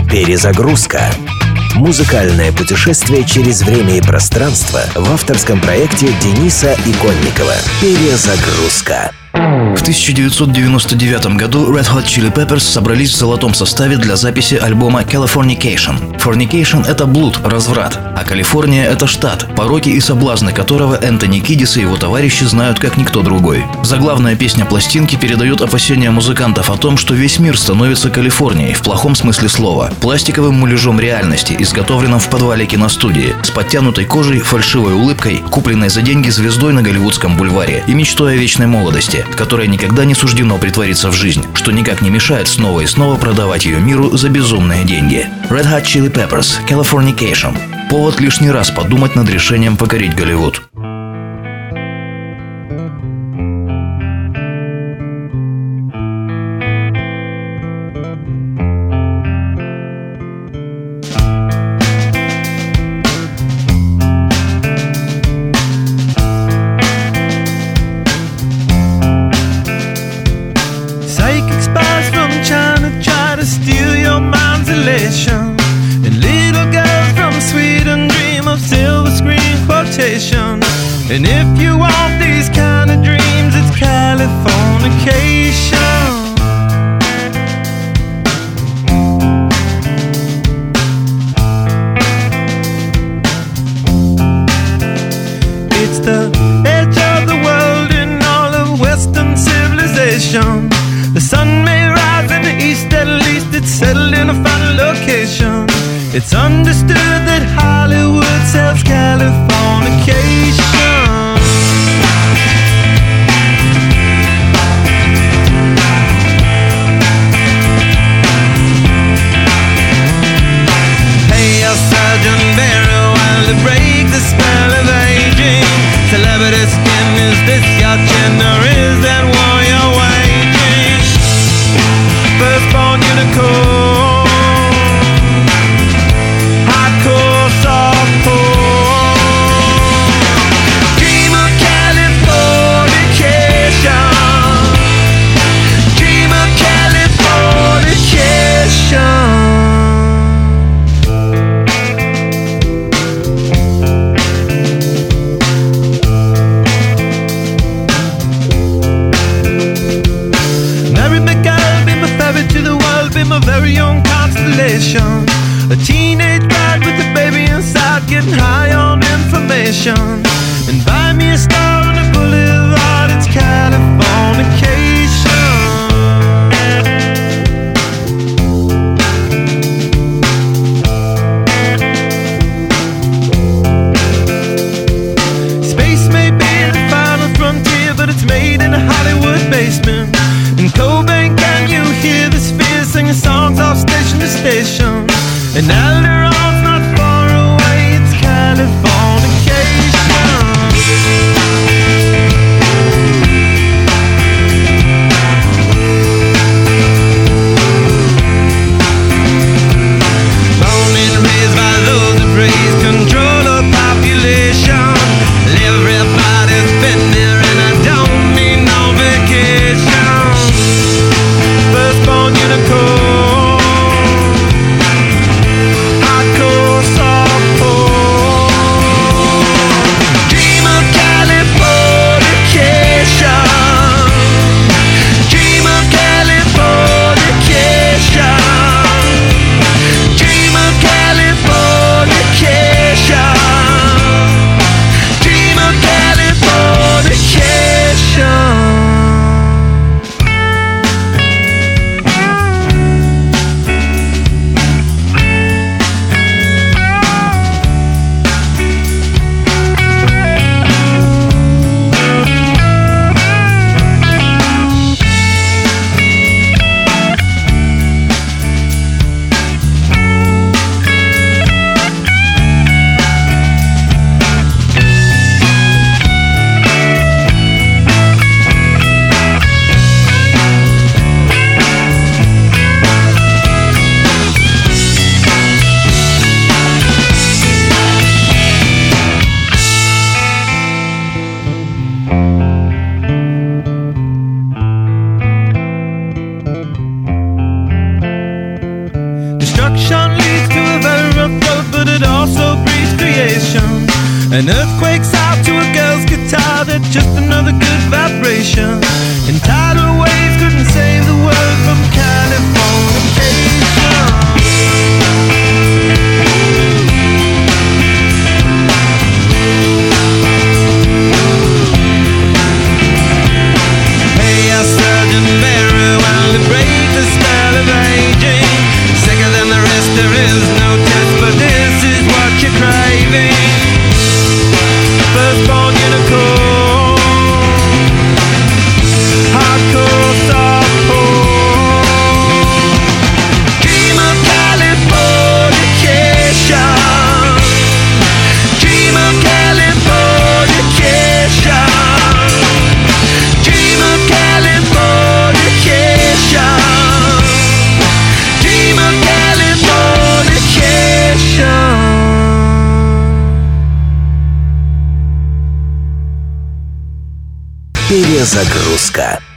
Перезагрузка. Музыкальное путешествие через время и пространство в авторском проекте Дениса Иконникова. Перезагрузка. В 1999 году Red Hot Chili Peppers собрались в золотом составе для записи альбома Californication. Fornication — это блуд, разврат, а Калифорния — это штат, пороки и соблазны которого Энтони Кидис и его товарищи знают как никто другой. Заглавная песня пластинки передает опасения музыкантов о том, что весь мир становится Калифорнией в плохом смысле слова, пластиковым муляжом реальности, изготовленным в подвале киностудии, с подтянутой кожей, фальшивой улыбкой, купленной за деньги звездой на Голливудском бульваре и мечтой о вечной молодости, которая никогда не суждено притвориться в жизнь, что никак не мешает снова и снова продавать ее миру за безумные деньги. Red Hot Chili Peppers, Californication. Повод лишний раз подумать над решением покорить Голливуд. And little girls from Sweden dream of silver screen quotation. And if you want these kind of dreams, it's Californication. It's the edge of the world in all of Western civilization. The sun may rise in the east, at least it's settled in a final location. It's understood that Hollywood sells Californication. Hey, Sergeant Barry, while to break the spell of aging. Celebrity skin, is this your chin or is that war you're waging? Firstborn unicorn, hardcore, softcore. Dream of Californication. Dream of Californication. Mary McGill, be my ferry to the world, be my very own constellation. A teenage bride with a baby inside, getting high on information. And buy me a star on the boulevard, it's Californication. Space may be the final frontier, but it's made in a Hollywood basement. In Cobain, can you hear the spheres singing songs off station to station? And Alderon's not far away, it's Californication. Born and raised by those that praise control of population. Everybody's been there and I don't need no vacation. Firstborn unicorn, hardcore. Destruction leads to a very rough road, but it also breeds creation. An earthquake's out to a girl's guitar, that's just another good vibration. And tidal waves couldn't save the world from Californication. Hey, I surgeon very well to break the spell of aging. Sicker than the rest, there is no test, but this is what you're craving. Firstborn unicorn, hardcore softcore. Dream of Californication. Dream of Californication. Dream of Californication. Dream of Californication. Перезагрузка.